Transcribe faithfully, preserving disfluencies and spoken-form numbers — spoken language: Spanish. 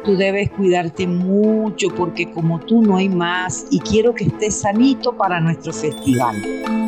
tú debes cuidarte mucho porque como tú no hay más y quiero que estés sanito para nuestro festival.